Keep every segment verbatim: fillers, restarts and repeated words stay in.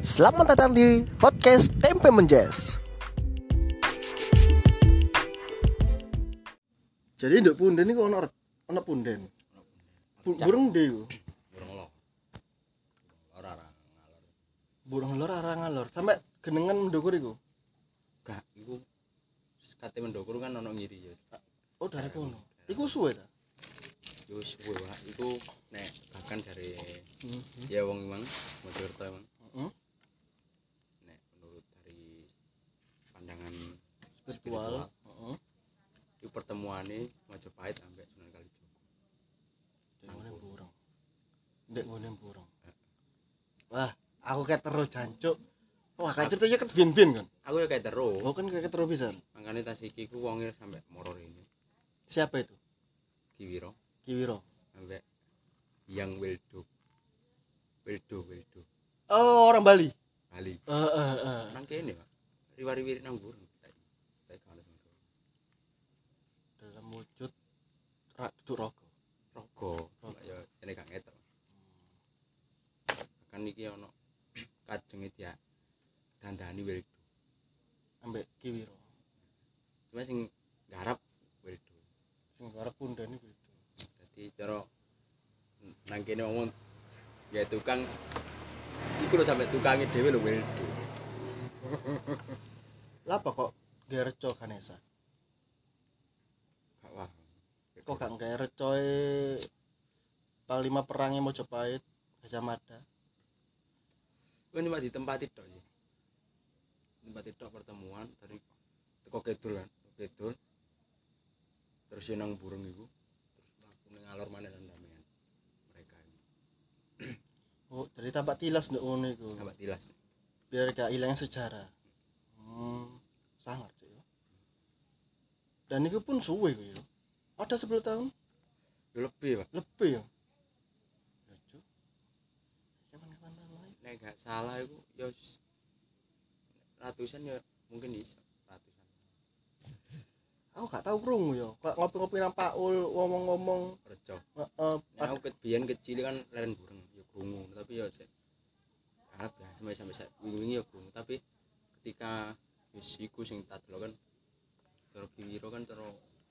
Selamat datang di podcast Tempe Menjes. Jadi nduk punden iku ono ono punden. Bu- Burung ndi iku? Burung lo. Ora ora ngalor. Burung lor arang ngalor. Sampai genengan mendukur iku. Gak iku kate mendokur kan ono ngiri ya. Oh, dari kono. Iku suwe ta? Yo suwe wae iku nek bahkan dari Hmm. ya wong Imang Mojokerto emang. Heeh. Nek menurut dari pandangan Spiritual. Heeh. itu pertemuane Majapahit sampai Sunan Kalijaga. Ndek ngene burung. Ndek ngene burung. Wah, aku kayak terus jancuk. Wah, kayak ceritanya ket bin-bin kan. Aku ya kayak terus. Oh, kan kayak terus pisan. Makane tas iki ku wonge sampai moror ini. Siapa itu? Kiwiro Kiwiro. sampai yang Weldo. Weldo Weldo. Oh, orang Bali. Bali. Heeh, heeh. Nang kene, Pak. Riwari-wiri nang burung. Saya kalau Dalam wujud rak duduk rogo. rogo ya ini gak ngetok kan iki ono kajenge dia dandani Weldo Ambek Kiwiro. cuma sing garap Weldo Sing garap punden iku. dadi cara nang kene ngomong ya tukang iku lho sampe tukange dhewe lho Weldo Lapa kok gereco Ganesha? gak wah Kok gak gawe recoe Panglima perangnya Mojopahit, Gajah Mada. kan cuma ditempati tok sih tempati tok pertemuan dari teko kidul kan kidul terus yo nang burung iku terus langsung ngalor maneh nang damean mereka ini Oh, jadi tampak tilas nduk ngono iku. tambah tilas Biar gak ilang sejarah. Hmm, sangar sih ya. Dan itu pun suwe iku ya. Ada sepuluh tahun yo lebih Pak lebih ya. Ya, Cuk. Kapan-kapan lain. nek gak salah iku yo ratusan ya mungkin bisa ratusan Aku gak tahu krungu ya. Kok ngopi-ngopi nang Paul ngomong-ngomong rejo heeh, nek aku ket biyen kecil kan leren burung yo krungu tapi yo sik anggap ya sampai sampai sak wingi-wingi yo krungu tapi ketika wis iku sing tak delok kan cara Kiwiro kan cara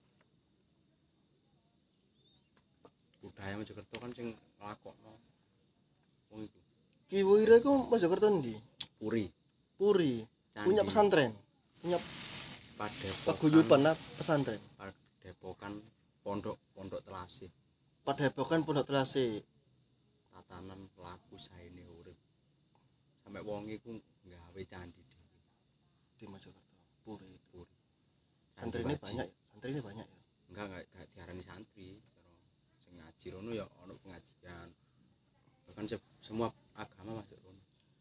budaya Mojokerto kan sing nglakokno wong iku Kiwiro iku Mojokerto ndi? puri Puri. Candi. Punya pesantren. Punya padepokan paguyuban lah pesantren. padepokan pondok pondok telasih Padepokan Pondok Telasi. tatanan pelaku saene urip sampai wong iku gawe candi dhewe Di Mojokerto. Puri. puri Santri ini banyak, santri ini banyak ya. enggak enggak enggak diarani santri cara sing ngaji rono ya ono pengajian bahkan se- semua agama masuk rono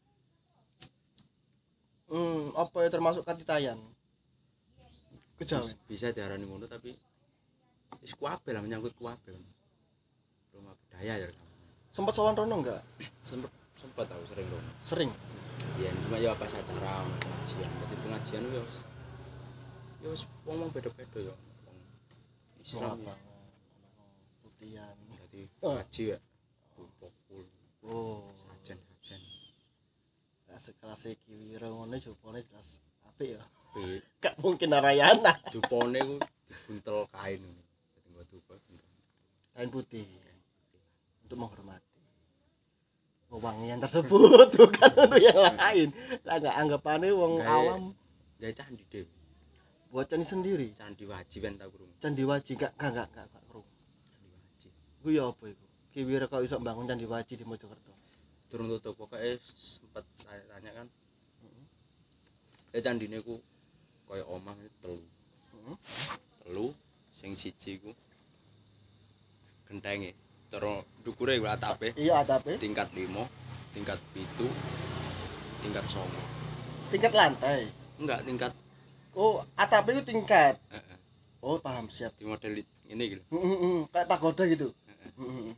Hmm, apa ya termasuk Katitayan? Kejawen. Bis- bisa diarani ngono tapi wis kuwabe lah menyangkut kuwabe kan rumah budaya ya kan Sempat sowan rono enggak? sempet sempet aku sering rono Sering. ya cuma ya pas acara ono pengajian berarti pengajian ya wis ya wis wong-wong beda-beda ya wong Islam ya Putihan. dadi Oh. ngaji ya pokul Oh, sajen sajen nah, sekelas Kiwiro ngono jupone jelas apik ya. tapi Gak mungkin Narayana. dupone ku dibuntel kain ngono dadi nggo dupa buntel Kain putih untuk menghormati wewangian tersebut bukan untuk yang lain. Lah enggak anggapannya wong Gawe- awam gawe candi dhewe buat candi sendiri. candi wajib kan tak kurung Candi Waji gak gak gak gak gak krungu. candi wajib Iku ya apa iku? Kiwiro kok iso bangun Candi Waji di Mojokerto. durung tutup pokoknya sempet saya tanya kan ya candine ku kaya omah telu Heeh. telu sing siji ku gentenge cara ndukure ku atape Iya atape. tingkat lima tingkat pitu tingkat songo Tingkat lantai. enggak tingkat Oh, atape itu tingkat. heeh Oh, paham siap. di model ini gitu Heeh, heeh, kayak pagoda gitu. Heeh. Heeh.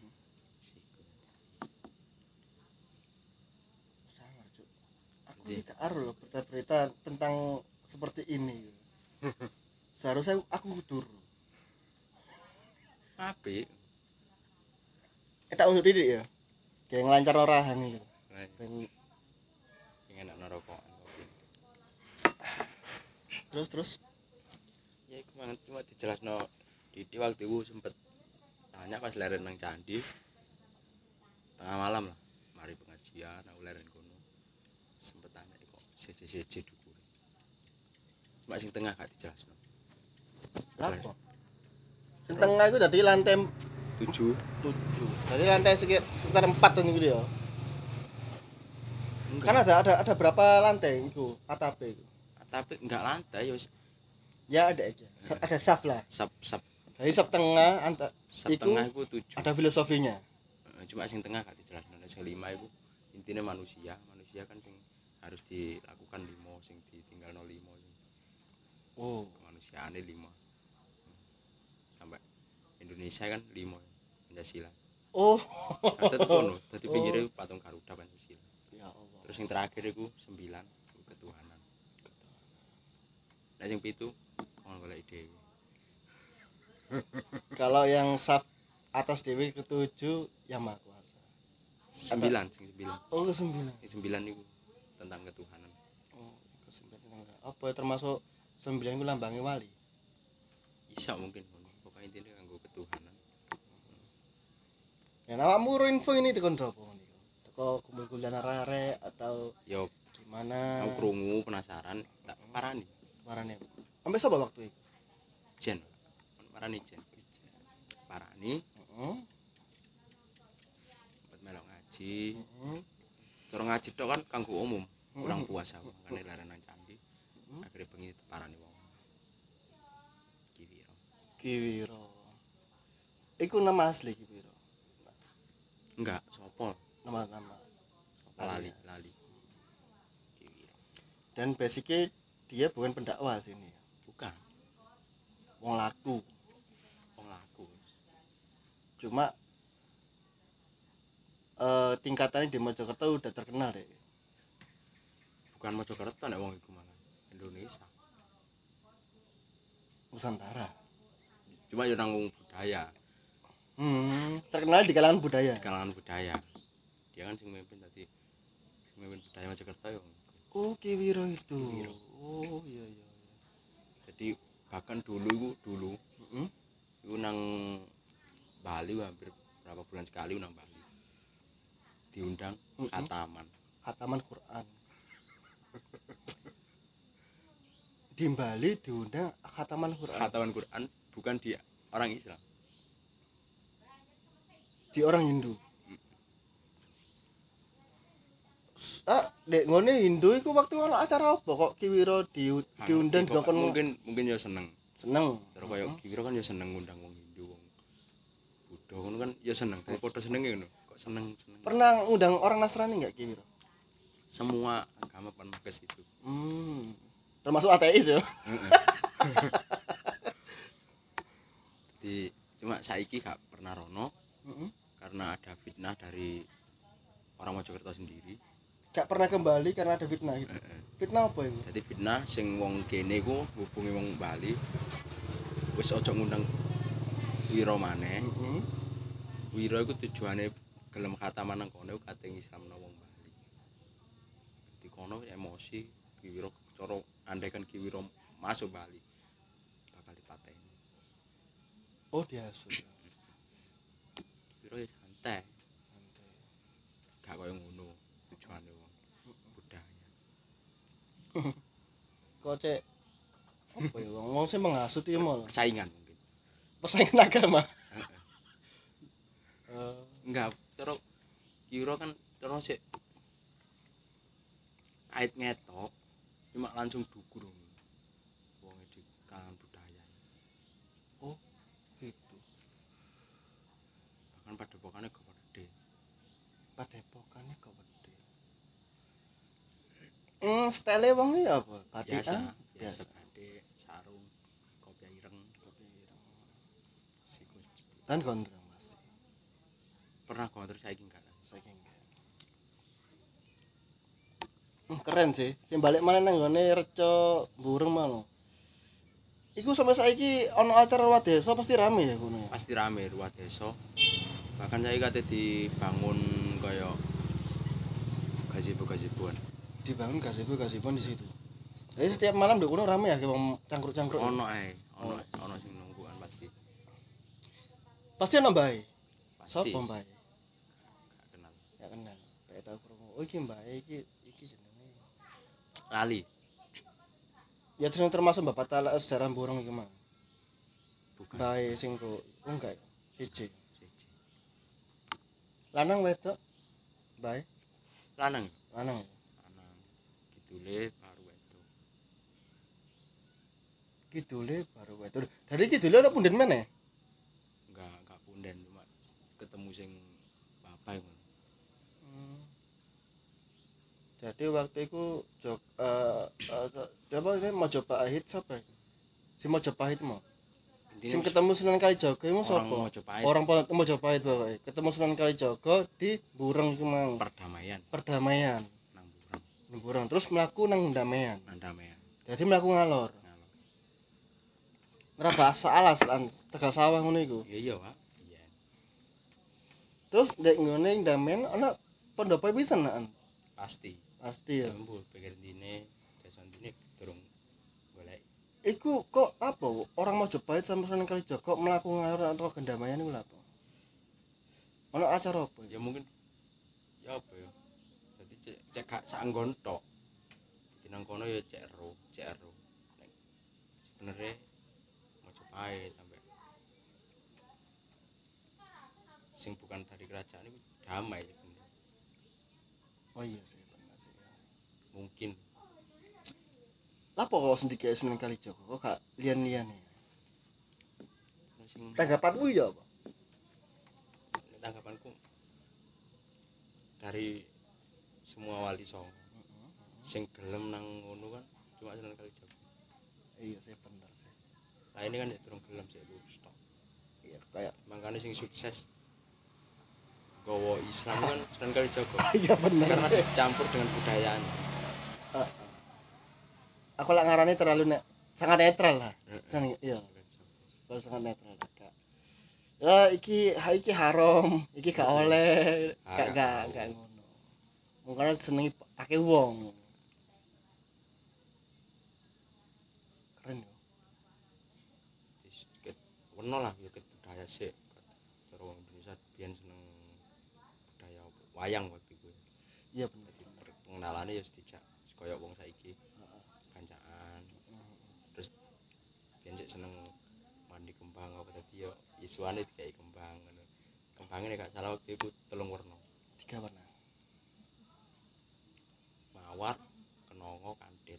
Sangat, Cuk. Aku Jadi- ini gak aru loh berita-berita tentang seperti ini. Seharusnya aku kudur. apik Eh tak unjuk didik ya. Kayak ngelancar orahan iki. nah, Ben Terus terus Ya iku mangan cuma dijelasno di di waktu itu sempet tanya pas leren nang candi tengah malam lah mari pengajian aku leren kono sempet tanya kok seje-seje dukure cuma sing tengah gak dijelasno apa? Sing tengah iku dadi lantai tujuh tujuh. Jadi lantai sekitar sekitar empat niku ya. enggak Kan ada ada ada berapa lantai iku atape iku? tapi enggak lantai ya wis Ya ada aja. Sa- Ada saf lah. sap sap Jadi saf tengah anta sap iku tengah iku tujuh ada filosofinya. Eh, cuma sing tengah gak dijelasno sing lima iku intinya manusia manusia kan sing harus dilakukan limo sing ditinggalno limo sing Oh. kemanusiaane lima sampai Indonesia kan lima Pancasila Oh. ada tuh kono dadi pinggire patung Garuda Pancasila Ya Allah. terus yang terakhir iku sembilan iku ketuhanan nah sing pitu kon golek dhewe Kalau yang saf atas dewi ketujuh yang maha kuasa. sembilan sing sembilan Oh ke sembilan. sing sembilan iku tentang ketuhanan Oh ke sembilan. Apa ya, termasuk sembilan itu lambangnya wali. bisa mungkin ngono pokoknya intinya kanggo ketuhanan Ya awakmu info ini tekan sapa niku? Teko kumpul-kumpulan arek atau yo gimana? aku krungu penasaran tak parani Marane. Sampai sapa waktu itu? jen parani jen parani Heeh. buat melok ngaji Heeh. cara ngaji tok kan kanggo umum kurang puas aku makane leren nang candi akhirnya bengi parani wong kiwiro Kiwiro. Iku nama asli Kiwiro. enggak sopo Nama-nama. sopo lali lali kiwiro Dan basicnya dia bukan pendakwah sini. bukan Wong laku. wong laku Cuma eh tingkatannya di Mojokerto udah terkenal deh. bukan Mojokerto nek wong iku malah Indonesia Nusantara. cuma yo nanggung budaya Hmm, terkenal di kalangan budaya. di kalangan budaya dia kan sing mimpin tadi sing mimpin budaya Mojokerto yo Oh, Kiwiro itu. Oh, iya iya. jadi bahkan dulu iku dulu Heeh. iku nang Bali hampir berapa bulan sekali nang Bali diundang Mm-mm. khataman Khataman Quran. Di Bali diundang khataman Quran. khataman Quran bukan di orang Islam Di orang Hindu. Ah, dek ngone Hindu iku waktu ana acara apa kok Kiwiro di, diundang Pokok- dikon mungkin mungkin ya seneng seneng. terus koyo kira kan ya seneng ngundang wong Hindu wong Buddha ngono kan ya seneng tapi padha senenge ngono kok seneng seneng Pernah ngundang orang Nasrani enggak Kiwiro? semua agama pernah ke situ Hmm. Termasuk ateis ya. di cuma saiki gak pernah rono Heeh. karena ada fitnah dari orang Mojokerto sendiri Gak pernah kembali karena ada fitnah gitu. Fitnah apa itu? jadi fitnah sing wong kene ku hubungi wong Bali wis ojo ngundang Wiro maneh Heeh. Wiro iku tujuane gelem khataman nang kono kate Islamno wong Bali di kono emosi Ki Wiro cara andaikan Ki Wiro masuk Bali bakal dipateni Oh, diasuh. Ki Wiro ya santai gak koyo ngono tujuane wong budaya Kok cek apa ya wong wong sing menghasut ya malah persaingan mungkin persaingan agama. Eh, enggak cara Ki Wiro kan cara sik kait ngetok cuma langsung dukur wong di kalangan budaya oh, gitu. bahkan padepokane gede Padepokane kok gede. Hmm, style wong iki apa? biasa Batikan? biasa batik sarung kopi ireng siku pasti Dan gondrong pasti. pernah kok terus saiki enggak Saking enggak. Hmm, keren sih. Sing balik mana nang gone Reco Burung mau. Iku sampai saiki ana acara Wadesa pasti rame ya kono ya. pasti rame ruang desa bahkan saya kate dibangun kaya gazebo-gazeboan Dibangun gazebo-gazebo di situ. Jadi setiap malam di kono rame ya kayak wong cangkruk-cangkruk. Ono ae, ono ono sing nungguan pasti. Pasti ana mbae. Pasti. Sopo mbae? Gak kenal. Ya kenal. Kayak tau krungu. Oh iki mbae iki iki jenenge. Lali. Ya terus termasuk Bapak Talak sejarah Burung iki mah. Bukan. Mbae sing kok oh enggak ya? Siji. Siji. Lanang wedok? Mbae? Lanang. Lanang. Lanang. Kidule baru wedok. Kidule baru wedok. Dari kidule ana punden meneh. Enggak, enggak punden cuma ketemu sing bapak iku. Hmm. Jadi waktu itu jog eh uh, apa ini Majapahit siapa? Si Majapahit mau. Sing ketemu Sunan Kalijaga iku sapa? Orang Majapahit bae. Ketemu Sunan Kalijaga di Bureng iku mang. Perdamaian. Perdamaian. Nang Bureng. Nang Bureng. Terus mlaku nang Ndamean. Nang Ndamean. Jadi mlaku ngalor. Ngalor. Ngerabas alas lan Tegal Sawah ngono iku. Iya iya, Pak. Iya. Terus ndek ngene Ndamean ana pendopo pisan an. Pasti. Pasti ya. Jambul pikir dine desa dine durung golek. Iku kok apa orang Majapahit sama Sunan Kalijaga kok mlaku ngalor atau Kendamaian iku lha apa? Ana acara apa? Ya mungkin ya apa ya. Jadi cek cek gak saenggon tok. Dadi nang kono ya cek ero, cek ero. Nek sebenere Majapahit sampai sing bukan dari kerajaan itu damai sebenarnya. Oh iya sih benar sih. Mungkin Apa kalau sendiri Sunan Kalijaga kok gak lian-lian ya? sing Tanggapanmu ya apa? tanggapanku dari semua wali songo sing gelem nang ngono kan cuma Sunan Kalijaga. Iya sih benar sih. Lah ini kan ya durung gelem sik lurus tok. Iya kayak Makanya sing sukses gowo Islam kan Sunan Kalijaga. iya benar Karena sih. dicampur dengan budayaan. Uh, aku lah ngarani terlalu ne sangat netral lah. Sangat iya. Terlalu sangat netral Kak. Ya iki ha iki haram, iki gak oleh, gak gak gak ngono. Mungkin senengi akeh wong. Keren yo. Sedikit weno lah ya ket budaya sik. Cara wong Indonesia biyen seneng budaya wayang waktu itu. Iya bener. Jadi pengenalane ya sedijak kaya wong saiki. Kancaan. Terus biyen sik seneng mandi kembang apa tadi ya isuane dikai kembang ngono. Kembange nek gak salah waktu itu telung warna. Tiga warna. Mawar, kenongo, kantil.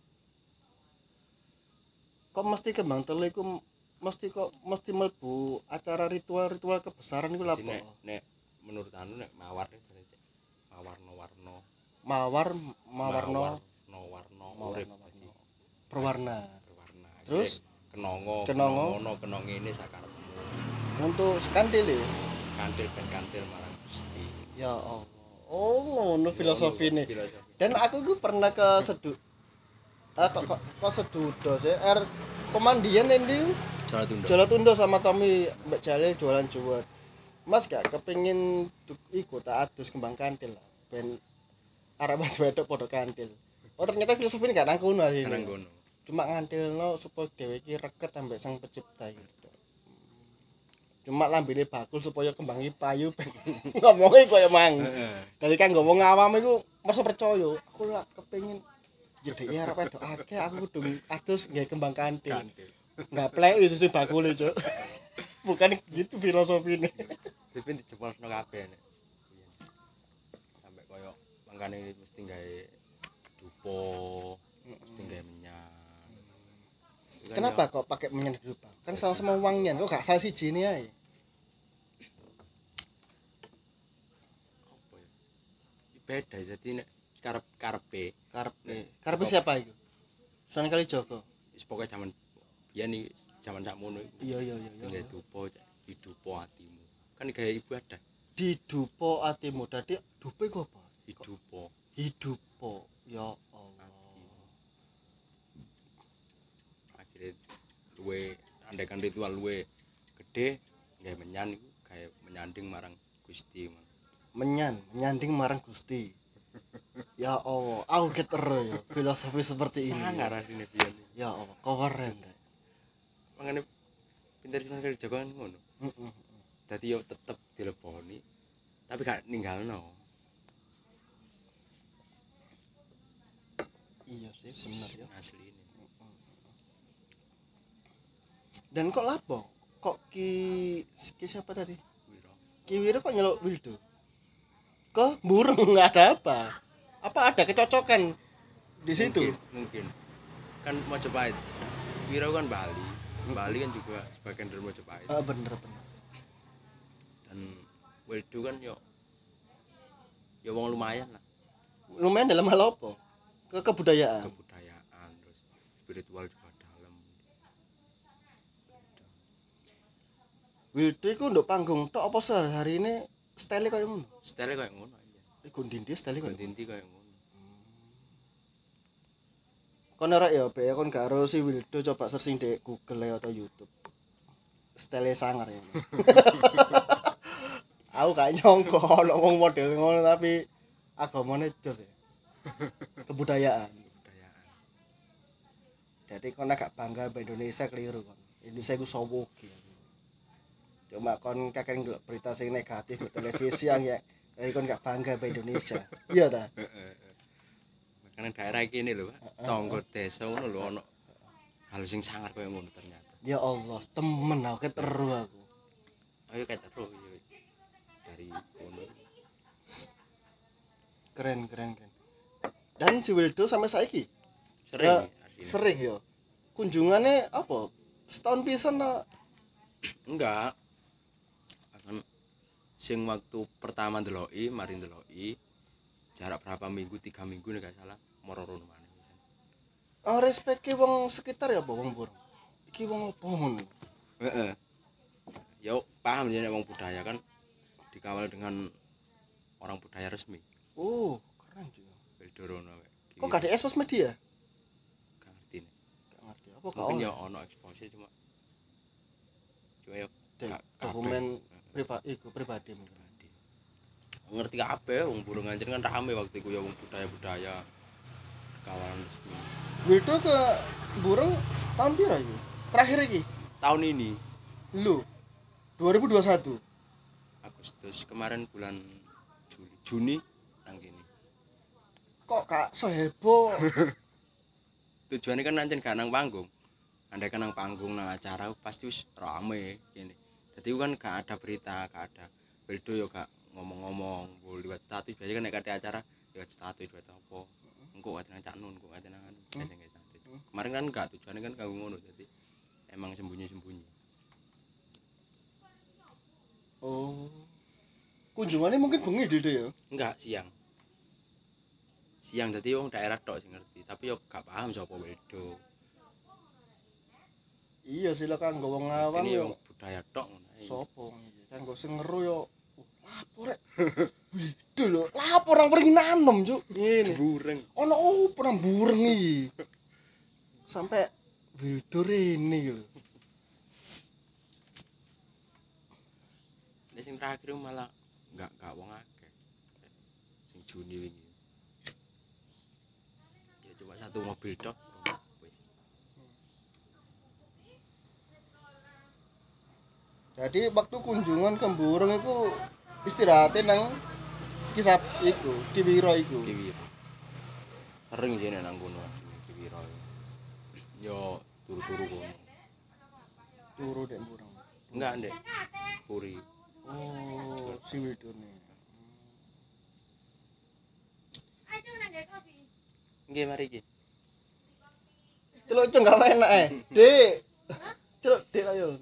Kok mesti kembang telu iku mesti kok mesti mlebu acara ritual-ritual kebesaran iku lha Jadi apa? nek nek menurut anu nek mawar nek mawarno-warno Mawar mawarno warno mawarna urip dadi berwarna. berwarna. Terus kenongo, kenongo kenongo, kenong ini sakarepmu. untuk sekantil ya. Kantil ben kantil marang Gusti. Ya Allah. Oh, ngono filosofine. Filosofi. Dan aku ku pernah ke Sedu. Ah kok kok, kok Sedudo sih? Er pemandian endi? Jalan tunda. Jolatundo sama Tommy Mbak Jalil jualan jual. Mas gak kepengin ikut tak adus kembang kantil lah. Ben arep wedok padha kantil. Oh ternyata filosofi ini gak nang kono sih. Nang kono. Cuma ngantilno supaya dhewe iki reket ambek sang pencipta gitu. Cuma lambene bakul supaya kembangi payu ben ngomongnya koyo mang. Dari kan ngomong awam iku mesti percaya. Aku lak kepengin ya dhek arep wedok akeh aku kudu adus nggae kembang kantil. Enggak plek susu bakul itu. Bukan gitu filosofine. Tapi dijebulno kabeh nek. Sampai koyo mangkane mesti gawe dupo, mesti gawe menyang. Kenapa kok pakai menyan dupa? Kan sama-sama wangian, kok gak salah siji ini ae. Apa ya? Beda jadi nek karep karepe, Karepe. Karepe siapa itu? Sunan Kalijaga. wis pokoke jaman biyen iki jaman sakmono iku. Iya iya iya. Gawe dupo, hidupo atimu. Kan gawe ibadah. Didupo atimu. Dadi dupe ku apa? Hidupo. Hidupo. Ya Allah. Akhirnya luwe andekan ritual luwe gede gawe menyan iku gawe menyanding marang Gusti. Menyan, menyanding marang Gusti. Ya Allah, aku ketero ya filosofi seperti ini. Sangar asline biyen. Ya Allah, keren. Mangane pinter Sunan Kalijaga kan ngono. Heeh. Dadi yo tetep dileboni tapi gak ninggalno. Iya sih bener ya. Asline. Dan kok lapo? Kok ki ki siapa tadi? Wiro. Ki Wiro kok nyeluk Wildo? Kok burung nggak ada apa? Apa ada kecocokan di situ? Mungkin, mungkin. Kan Mojopahit. Wiro kan Bali. Bali kan juga sebagian dari Mojopahit. Ah, bener bener. Dan Wildo kan yo yo wong lumayan lah. Lumayan dalam hal apa? Ke kebudayaan. Kebudayaan terus spiritual juga dalam. Wildo iku nduk panggung tok apa sehari ini style koyo ngono? Style kayak ngono aja. Iku ndindi style koyo. Inti kayak ngono. Kon ora ya, be kon gak ero si Wildo coba searching di Google ya atau YouTube. Style sangar ya. Aku gak nyongko ono wong model ngono tapi agamane jos ya. Kebudayaan. Kebudayaan. Jadi kon agak bangga mbak Indonesia keliru kon. Indonesia iku sowo iki. Cuma kon kakek ndelok berita sing negatif di televisi yang ya jadi kon gak bangga mbak Indonesia. Iya ta? Makanya daerah kene lho, Pak. Tonggo desa ngono lho ono hal sing sangar koyo ngono ternyata. Ya Allah, temen aku keteru aku. Ayo kayak terus yo. Dari ngono. Keren keren keren. Dan si Wildo sampai saiki Sering ya, aslinya. sering yo. Kunjungannya apa? Setahun pisan ta? Enggak. Akan sing waktu pertama ndeloki, mari ndeloki jarak berapa minggu, tiga minggu nek gak salah, moro rono maneh. Oh, respect ki wong sekitar ya apa wong burung? Iki wong apa ngono? Heeh. Yo paham ya nek wong budaya kan dikawal dengan orang budaya resmi. Oh, keren juga. Beldorono. Kok gak ada ekspos media? Gak ngerti nih. Gak ngerti. Apa gak Mungkin oleh? ya ono ekspose cuma cuma ya Dek, gak- dokumen kabeh. pribadi iku pribadi mungkin. Ngerti kabeh wong burung anjir kan rame waktu iku ya wong budaya-budaya kawalan resmi. Wildo ke burung tahun pira iki? Terakhir iki? Tahun ini Lu dua ribu dua puluh satu. Agustus kemarin bulan Juli Juni nang kene. Kok gak seheboh? Tujuannya kan nancen gak nang panggung. Andai kan nang panggung nang acara pasti wis rame kene. Dadi kan gak ada berita, gak ada. Beldo yo gak ngomong-ngomong, boleh liwat status biasanya kan nek kate acara liwat status liwat apa. Engko kate nang Cak Nun, engko kate nang anu, biasa nggak status. Kemarin kan gak tujuannya kan kanggo ngono jadi emang sembunyi-sembunyi. Oh. Kunjungannya mungkin bengi dede ya. Enggak, siang. Siang dadi wong daerah tok sing ngerti, tapi yo gak paham sapa Weldo. Iya sih lah kanggo wong awam Ini yo. wong budaya tok ngono ae. Sopo iki? Kanggo sing ngeru yo. Oh, lapor rek. Wido lho, lapor nang pergi nanem, Cuk. Ngene. Bureng. Ono opo nang bureng iki? Sampai Wildo rene iki lho. Nek sing terakhir malah enggak enggak wong akeh. Sing Juni wingi. Ya cuma satu mobil tok. Wis. Jadi waktu kunjungan ke burung itu istirahatin nang kisah iku, Kiwiro iku. Kiwiro. Sering sih nek nang kono Kiwiro. Yo turu-turu kono. Turu dek burung. Enggak, Ndek. Puri. Oh, si Wildo nih. Nggih, mari iki. Celuk ceng gak enak eh. Dek. Celuk dek ayo.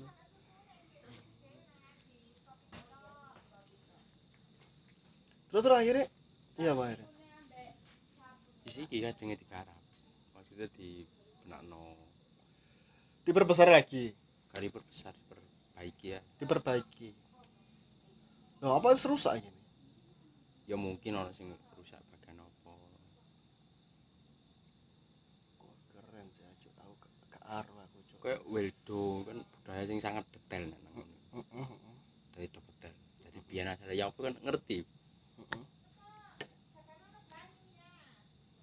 Terus terus akhirnya iya Pak akhirnya. Di sini kan jenenge digarap. Maksudnya di benakno Diperbesar lagi, kali perbesar perbaiki ya. diperbaiki. Loh, apa harus rusak ini? Ya mungkin orang sing rusak bagian apa. Kok keren sih aja aku gak aru aku cuk. Kayak Weldo kan budaya sing sangat detail nang ngono. Heeh. Dari detail. Jadi biyen asale ya apa kan ngerti.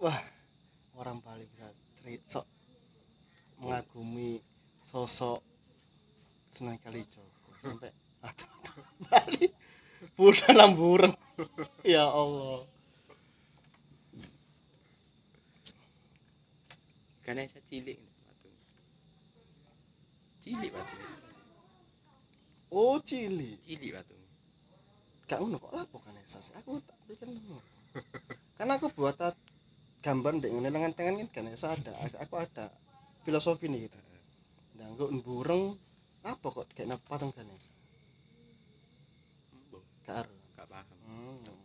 wah orang Bali bisa ceri- sok mengagumi sosok Sunan Kalijaga sampai aduh Bali Buddha lambureng ya Allah. Ganesha cilik batu. Cilik batu. Oh cilik Cilik batu. gak ngono kok lapo kan esas aku tak pikir ngono karena aku buat tat- gambar ndek ngene dengan tangan kan Ganesha ada aku ada filosofi nih gitu nah engko bureng apa kok kayak patung Ganesha Mbok, gak ero. gak paham. Hmm.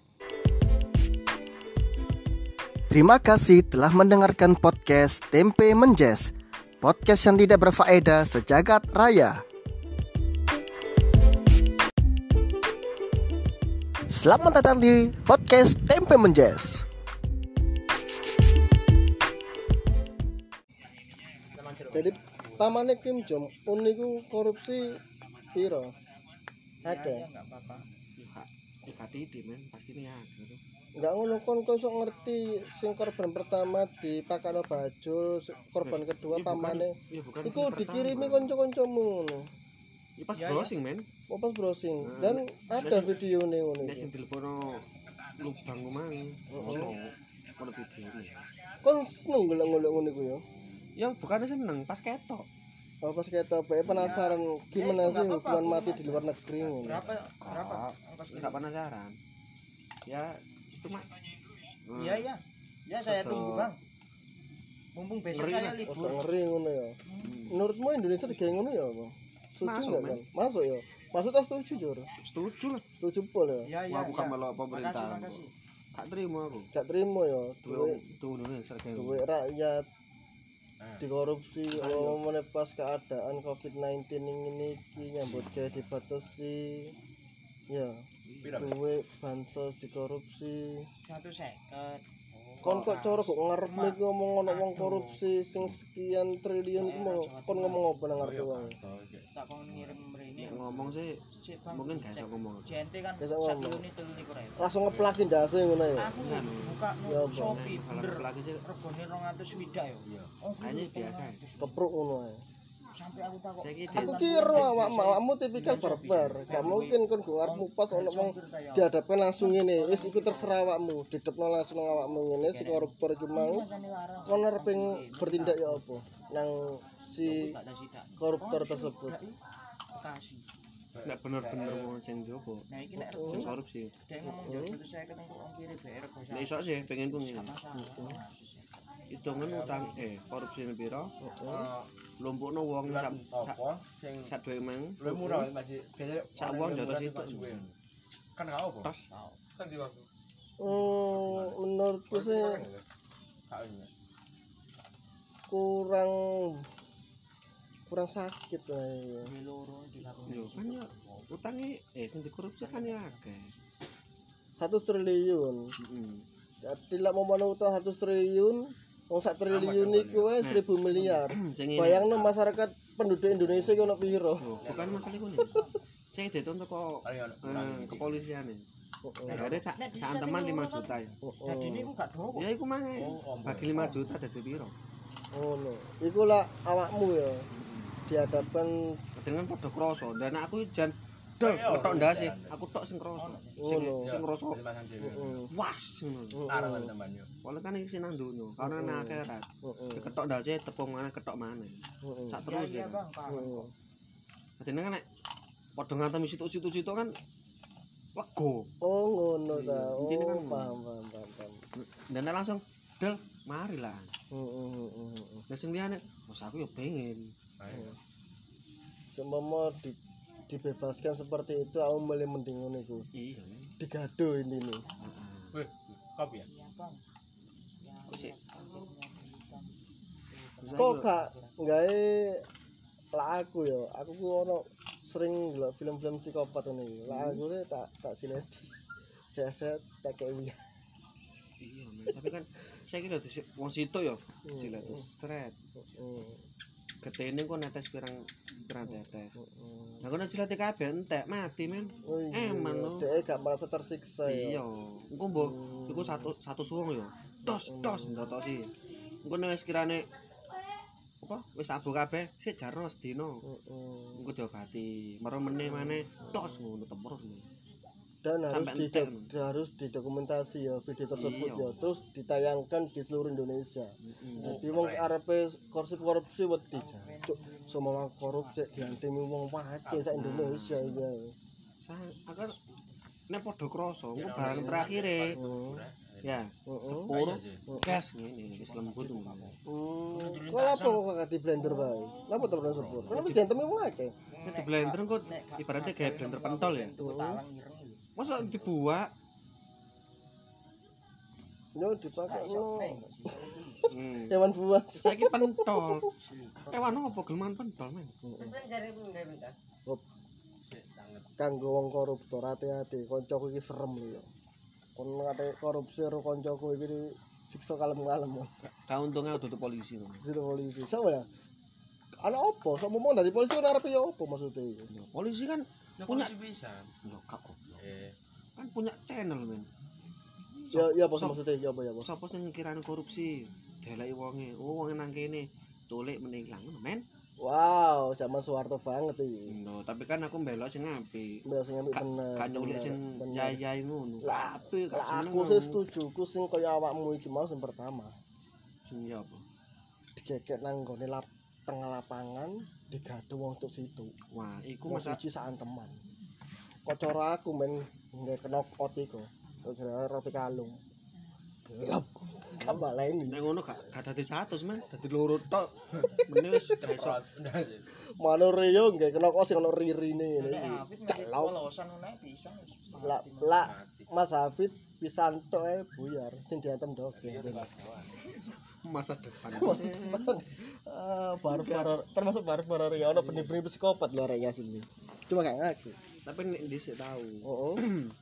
Terima kasih telah mendengarkan podcast Tempe Menjes, podcast yang tidak berfaedah sejagat raya. Selamat datang di podcast Tempe Menjes. Jadi pamane Kim Jong Un niku korupsi piro? Akeh. Enggak apa-apa. Ya gak titik men, pasti ini agak tuh. Enggak ngono kon kok iso ngerti sing korban pertama dipakano bajul, si- korban kedua Ya bukan- pamane. ya bukan Iku sing dikirimi pertama. kanca-kancamu ngono. Ya pas Ya, ya. browsing men. Oh pas browsing Nah, dan nek- ada nek sing- videone ngono Nek iku. sing telepono lubang kumang. Ono ono video. Kon seneng golek-golek ngono iku ya. Ya bukannya seneng, pas ketok. Oh pas kata bae penasaran gimana sih hukuman mati di luar negeri ngono. Berapa? Berapa? Kak, Ongkos ya gak penasaran. Ya cuma Hmm. Iya, iya. Ya saya Soto. tunggu, Bang. Mumpung besok Ngeri saya lah. Oh, libur. ngeri ngono ya. Menurutmu Indonesia digawe ngono ya apa? Setuju Masuk, enggak men. kan? Masuk ya. Maksudnya setuju Jor. setuju lah. Setuju pol ya. Ya, ya. Wah, aku gak ya. melok pemerintah. Makasih, makasih. Gak terima aku. Gak terima ya. Duwe Duit duwe Indonesia kayak duit rakyat dikorupsi kalau meneh pas keadaan covid sembilan belas ini iki nyambut gawe dibatasi ya duit bansos dikorupsi Satu seket. kon kok cara kok ngarep iki ngomong ono wong korupsi sing sekian triliun iku mau kon ngomong apa nang ngarep wong Tak kon ngirim mrene. Nek ngomong sih Sik, Bang. mungkin gak iso ngomong. J N T kan Gak iso ngomong. satu unit telu niku rek. langsung ngeplaki ndase ngono ya Aku buka Ya, no Bang. Shopee Kalau bener. lagi sih Regane dua ratus swidak ya. Oh, kayaknya biasa. kepruk ngono ya sampai aku takut. Saya gitu. aku kira awakmu awakmu tipikal barbar gak mungkin kon go ngarepmu pas ono wong dihadapkan langsung ngene wis iku terserah awakmu didepno langsung nang awakmu ngene si koruptor iki mau kon arep bertindak ya apa nang si Gak ada sidak. koruptor tersebut Bekasi. Nek bener-bener wong sing jopo Nah, iki nek sing korupsi. dia ngomong jauh satu saya ketemu ongkir B R kok Nek iso sih pengen ku ngene. masalah. Hitungan utang eh korupsi piro? Lumpukno wong sak sak sak duwe mang. Lu murah masih biasanya Sak wong jotos itu. kan enggak apa Tos. kan di waktu hmm, menurutku sih kak ini kurang kurang sakit lah ya. Loro dilakoni. Yo kan ya utange eh sing dikorupsi kan ya akeh. Satu triliun Heeh. tidak mau mana utang satu triliun wong sak triliun iku wae seribu miliar Sing ngene. bayangno masyarakat penduduk Indonesia iki ono piro Yo, bukan masalah iku nih. Saya dituntut kok paling eh, kepolisian nih. Heeh. Negara sak sak teman lima juta ya. Jadi niku gak dowo. Ya iku mange. Bagi lima juta dadi piro? ngono iku lah awakmu ya dihadapkan Dengan padha kroso. Dan aku jan dol ngetok ndase. Aku tok sing kroso. Sing Ngono. sing kroso. pasang dhewe heeh Was ngono. larang tambahnya Oleh kan iki nang donya, karena nang akhirat. heeh Diketok ndase tepung mana ketok mana. heeh Sak Iya, terus iya, ya. Bang, paham. heeh Dadi kan nek padha ngantem situ-situ-situ kan lego. oh ngono ta oh Intine kan paham paham paham paham. Dan nek langsung del mari lah. heeh heeh heeh Lah sing liyane, "Mas aku yo pengen." seumpama di, dibebaskan seperti itu aku milih mending ngono iku Iya, men. digado ini nih Heeh. weh kopi ya Iya, Bang. Kok sih kok gak gawe lah aku ya aku ku ono sering ndelok film-film psikopat ngono iki lah aku tuh tak tak sileti saya saya tak kayak wiyah Iya, men. Tapi kan saya kira di wong situ yo silet seret. heeh getene kok netes pirang pirang tetes. Nah kok nek cilate kabeh entek mati men. Oh iya. Eman lho. Dhek gak merasa tersiksa ya. Iya. Engko mbok iku satu satu suwung ya. Tos tos ndotosi. Engko nek wis kirane apa wis abu kabeh sik jarno sedina. Heeh. Engko diobati. Maro meneh maneh tos ngono terus. Dan harus Sampai didok- entek. harus didokumentasi ya video tersebut Iya. ya, terus ditayangkan di seluruh Indonesia. Heeh. Jadi wong arepe korupsi-korupsi wedi jancuk, semua korupsi diantemi wong wae sak Indonesia iki. Sa agar nek padha krasa engko barang terakhire ya sepur gas ngene wis lembut ngono. Hmm. Kok apa kok gak di blender bae? Napa to blender sepur? Kan wis diantemi wong akeh. Nek di blender engko ibaratnya kayak blender pentol ya. Talang ireng iki. Masa dibuak Yo dipakai no. hmm. Hewan buas. Saiki pentol. Ewan apa gelman pentol men. Terus kan jare pun gawe bentar. Kanggo wong koruptor hati-hati, kancaku iki serem lho ya. Kon ngate korupsi karo kancaku iki siksa kalem-kalem. Kauntungnya dudu polisi ngono. Jadi polisi sama ya. Ana opo? Sok ngomong dari polisi ora arepe ya opo maksudnya iki? Ya, polisi kan Nek punya polisi bisa. lho kak goblok. Eh, Kan punya channel men. Ya ya apa Sop- maksudnya ya apa ya apa? Sapa sing ngirani korupsi? Deleki wonge. Oh wonge nang kene. Culik meneh ilang ngono men. Wow, zaman Soeharto banget iki. No, tapi kan aku mbelok sing apik. Mbak sing apik Gak bener. gak nyulik bener, sing bener. yai-yai ngono. Lah, Apik gak Lah seneng. aku sih setuju, ku sing kaya awakmu iki mau sing pertama. Sing ya apa? Digekek nang gone lap tengah lapangan, digadu wong tuk situ. Wah, iku Ku masa masa siji sak teman. Kok cara aku men nggae knockout iku. Kok roti kalung. Lap. Gak baleni. nek ngono gak gak dadi seratus men, dadi loro tok. Meneh wis gak iso. Mano Rio nggae knockout sing ono ririne Nek iki. Afid Celok. polosan ngono pisan wis Lah lah Mas Hafid pisan tok ae buyar sing diantem doge. Masa depan. Ah, barbar termasuk barbar ya ono benih-benih psikopat lho arek sini. Cuma gak ngaku. Tapi nek dhisik tau. Oh.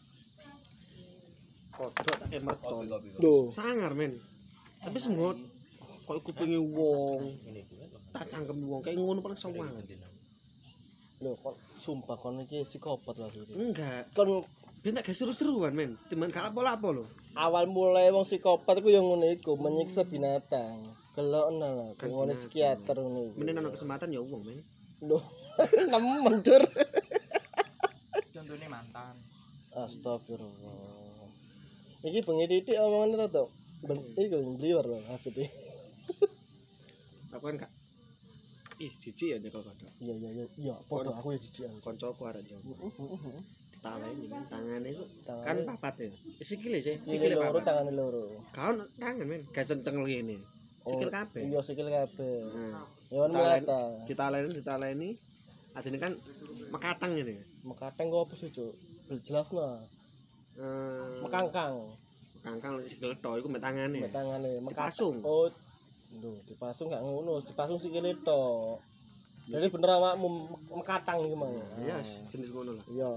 Kodok tak emerton. Lho, Sangar men. Tapi semua koyo kupinge wong. Tak cangkem wong kayak ngono paling sawang. lho kon sumpah kon iki psikopat lah iki. Enggak. Kon Dia gak seru-seruan men. Timan gak apa-apa lho. awal mulai wong psikopat iku yang ngono iku menyiksa binatang. Gelokna lah, Kan ngono binatang. psikiater ngono iku. Menen ana kesempatan ya wong men. Lho, nemen dur. contone mantan. Astagfirullah. Iki bengi titik omongan to. Ben iku bliwer lho Hafid iki. Aku kan gak ih jijik ya nyekel kodok. Iya iya iya, iya padha aku ya jijik aku. Koncoku arek yo. Heeh heeh. Taleni men tangane iku Tangane- kan papat ya. Sikile sih, Sikile sikile loro papat. tangane loro. Kaon tangan men, gak kenceng ngene. Sikil kabeh. Iya sikil kabeh. Nah, Ya kan Ditalen- melata. ditaleni ditaleni. Adine kan mekatang ngene. Mekateng kok apa sih, Cuk? Jelasno. Eh, Mekangkang. kangkang sikil tok iku mbek tangane. Mbek tangane Dipasung. Oh. Lho, dipasung gak ngono, dipasung sikile tok. Jadi bener awakmu me- mekatang iki mang. Ya jenis ngono lah. Iya.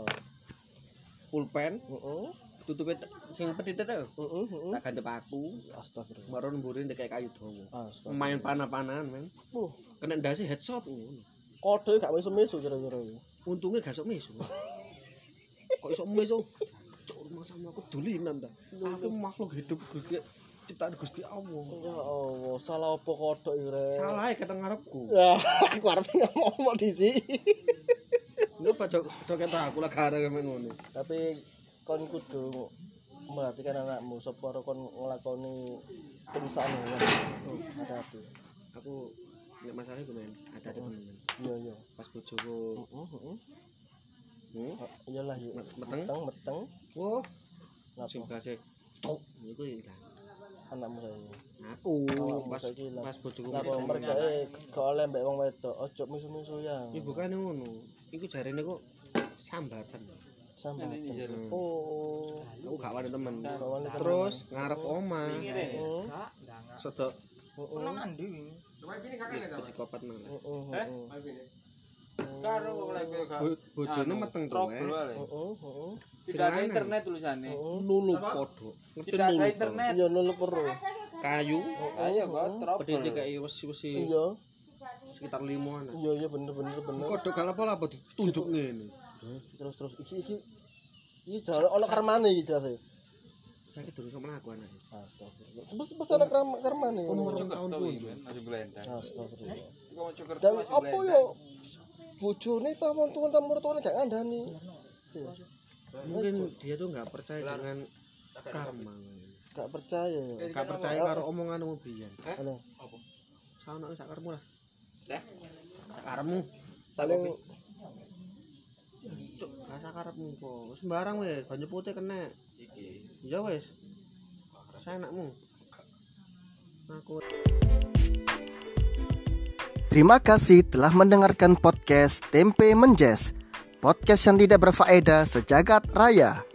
Pulpen Heeh. tutupe t- sing petitet ae. Heeh, heeh. Tak gandep aku. Astagfirullah. Maron mburi ndek kayu dawa. Astagfirullah. Main panah-panahan men. Uh, Kena ndase headshot ngono. kode gak mesu-mesu kira-kira iki. Untunge gak sok mesu. Kok iso mesu? Cuk, rumah sama aku dulinan ta. Aku makhluk hidup Gusti ciptaan Gusti Allah. Ya Allah, salah apa kodok iki, Rek? Salah ya kata ngarepku. Ya, aku arep ngomong di sini. Lu pak jok joket aku lah gara men ngono. Tapi kon kudu memperhatikan anakmu supaya kon nglakoni penistaan ya. Oh, hati-hati. Aku nek masalah iku men, ada-ada temen men. Iya iya. Pas bojoku Heeh heeh. hmm? Iyalah ya. Meteng? meteng meteng. Wah, Ngapa? sing bahasa tok niku ilang. Anakmu saya. Aku Awakmu pas saiki ilang. pas bojoku Lah kok meteng. mereka eh gak oleh mbek wong wedok, ojo misu-misu ya. Ya bukan ngono. Iku jarene kok sambatan. Sambatan. Hmm. Oh. Aku gak wani temen. Gak wani temen. Terus ngarep oma. Heeh. Enggak, enggak. Sodok Heeh. Nang andi wingi. psikopat malah. Heeh. heeh. Karo lek kowe gak Bo- Bojone meteng tuh. trouble eh. wae. Heeh heeh. Tidak ada internet tulisannya. Nulu kodok. Ngerti Tidak ada nulu. internet. Iya nulu perlu. Kayu. Ayo kok trouble. Pedene kayak wesi-wesi. Iya. sekitar limaan. Iya iya bener bener bener. Kodok gak apa-apa ditunjuk ngene. Terus terus iki iki iki jare ono karmane iki jelas e. Sakit durung sama aku anak. Astagfirullah. Sebes sebes ana karmane. Umur Cuk, tahun tau pun. iki, men, masih belendang. Astagfirullah. Iku mau cukur Dan masih apa belendang. yo bojone ta wong tuwa ta mertuane gak ngandani. Mungkin dia tuh nggak percaya dengan karma. Gak percaya ya. Gak percaya karo omonganmu biyen. Ana Saono sak karepmu lah. Teh. Sak karepmu. paling Cuk, gak sak karepmu kok. Sembarang wis, banyu putih kena. Iki. Ya wis. Senakmu. Aku terima kasih telah mendengarkan podcast Tempe Menjes. Podcast yang tidak berfaedah sejagat raya.